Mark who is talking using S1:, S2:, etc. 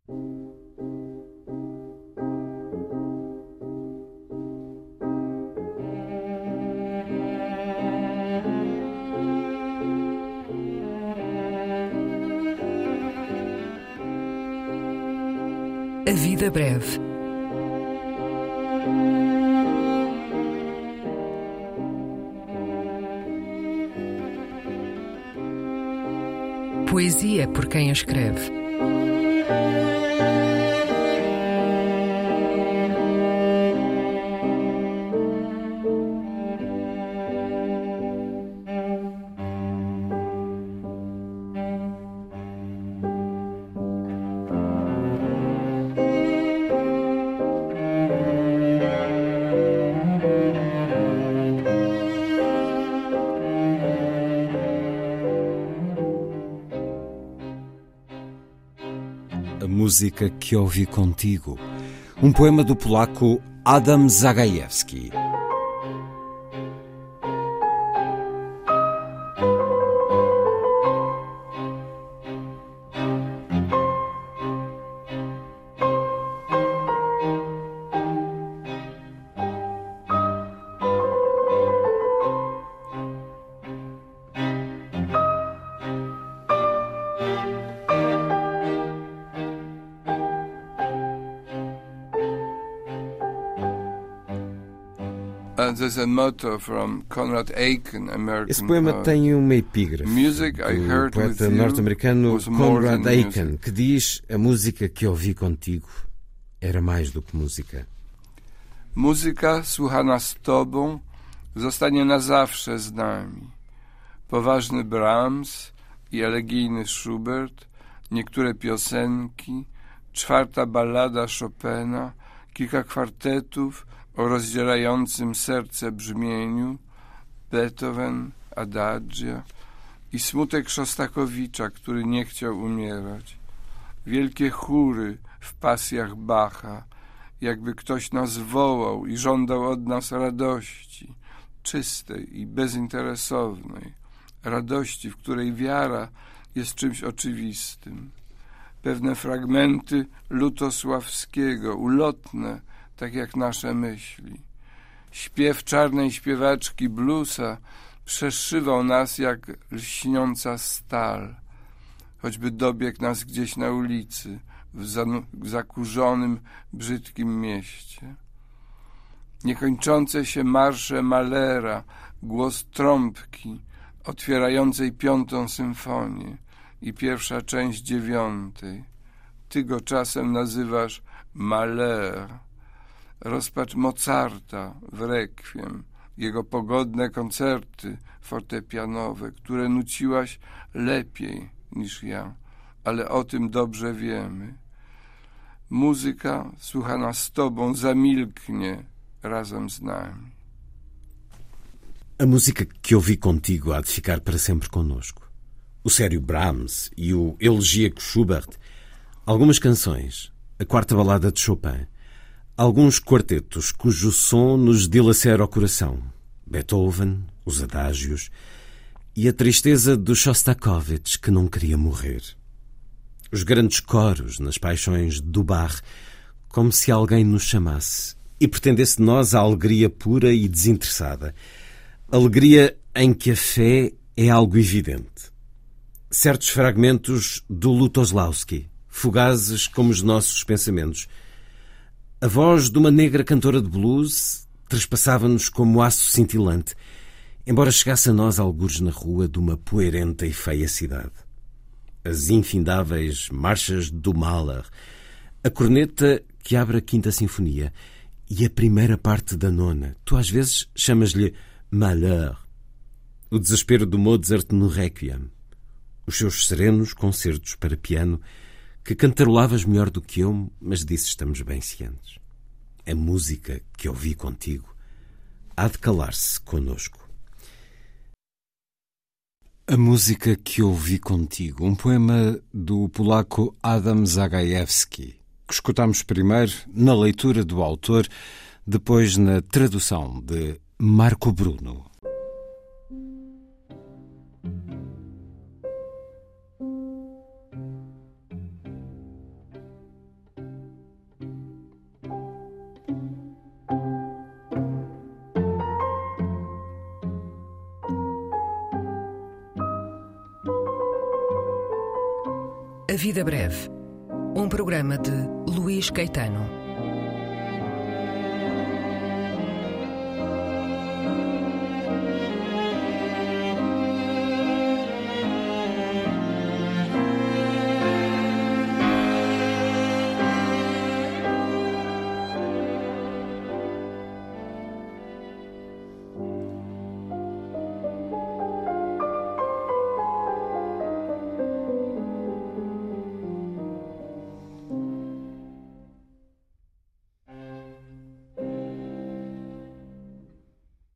S1: A vida breve. Poesia por quem a escreve.
S2: A música que ouvi contigo. Um poema do polaco Adam Zagajewski.
S3: There's a motto from Conrad Aiken, American
S2: Esse poema
S3: poet.
S2: tem uma epígrafe
S3: Music I
S2: do
S3: heard with
S2: poeta
S3: you
S2: norte-americano
S3: was more
S2: Conrad
S3: than
S2: Aiken,
S3: music.
S2: que diz: a música que ouvi contigo era mais do que música.
S3: Muzyka słuchana z tobą zostanie na zawsze z nami. Poważny Brahms i elegijny Schubert, niektóre piosenki, czwarta ballada Chopina, kilka kwartetów o rozdzierającym serce brzmieniu, Beethoven, Adagio i smutek Szostakowicza, który nie chciał umierać. Wielkie chóry w pasjach Bacha, jakby ktoś nas wołał i żądał od nas radości, czystej i bezinteresownej, radości, w której wiara jest czymś oczywistym. Pewne fragmenty Lutosławskiego, ulotne, tak jak nasze myśli. Śpiew czarnej śpiewaczki bluesa przeszywał nas jak lśniąca stal, choćby dobiegł nas gdzieś na ulicy, w zakurzonym, brzydkim mieście. Niekończące się marsze Mahlera, głos trąbki otwierającej 5. symfonię i pierwsza część 9. Ty go czasem nazywasz Mahler. Rozpacz Mozarta w Requiem, jego pogodne koncerty fortepianowe, które nuciłaś lepiej niż ja, ale o tym dobrze wiemy. Muzyka słuchana z tobą zamilknie razem z nami.
S2: A música que ouvi contigo há de ficar para sempre connosco. O sério Brahms e o elegíaco Schubert, algumas canções, a quarta balada de Chopin, alguns quartetos cujo som nos dilacera o coração, Beethoven, os adágios e a tristeza do Shostakovich que não queria morrer. Os grandes coros nas paixões do Bach, como se alguém nos chamasse e pretendesse de nós a alegria pura e desinteressada, alegria em que a fé é algo evidente. Certos fragmentos do Lutosławski, fugazes como os nossos pensamentos. A voz de uma negra cantora de blues trespassava-nos como aço cintilante, embora chegasse a nós algures na rua de uma poeirenta e feia cidade. As infindáveis marchas do Mahler, a corneta que abre a 5ª Sinfonia e a primeira parte da 9ª. Tu às vezes chamas-lhe Malheur. O desespero do Mozart no Requiem. Os seus serenos concertos para piano que cantarolavas melhor do que eu, mas disso estamos bem cientes. A música que ouvi contigo há de calar-se conosco. A música que ouvi contigo, um poema do polaco Adam Zagajewski, que escutámos primeiro na leitura do autor, depois na tradução de Marco Bruno.
S1: A Vida Breve, um programa de Luís Caetano.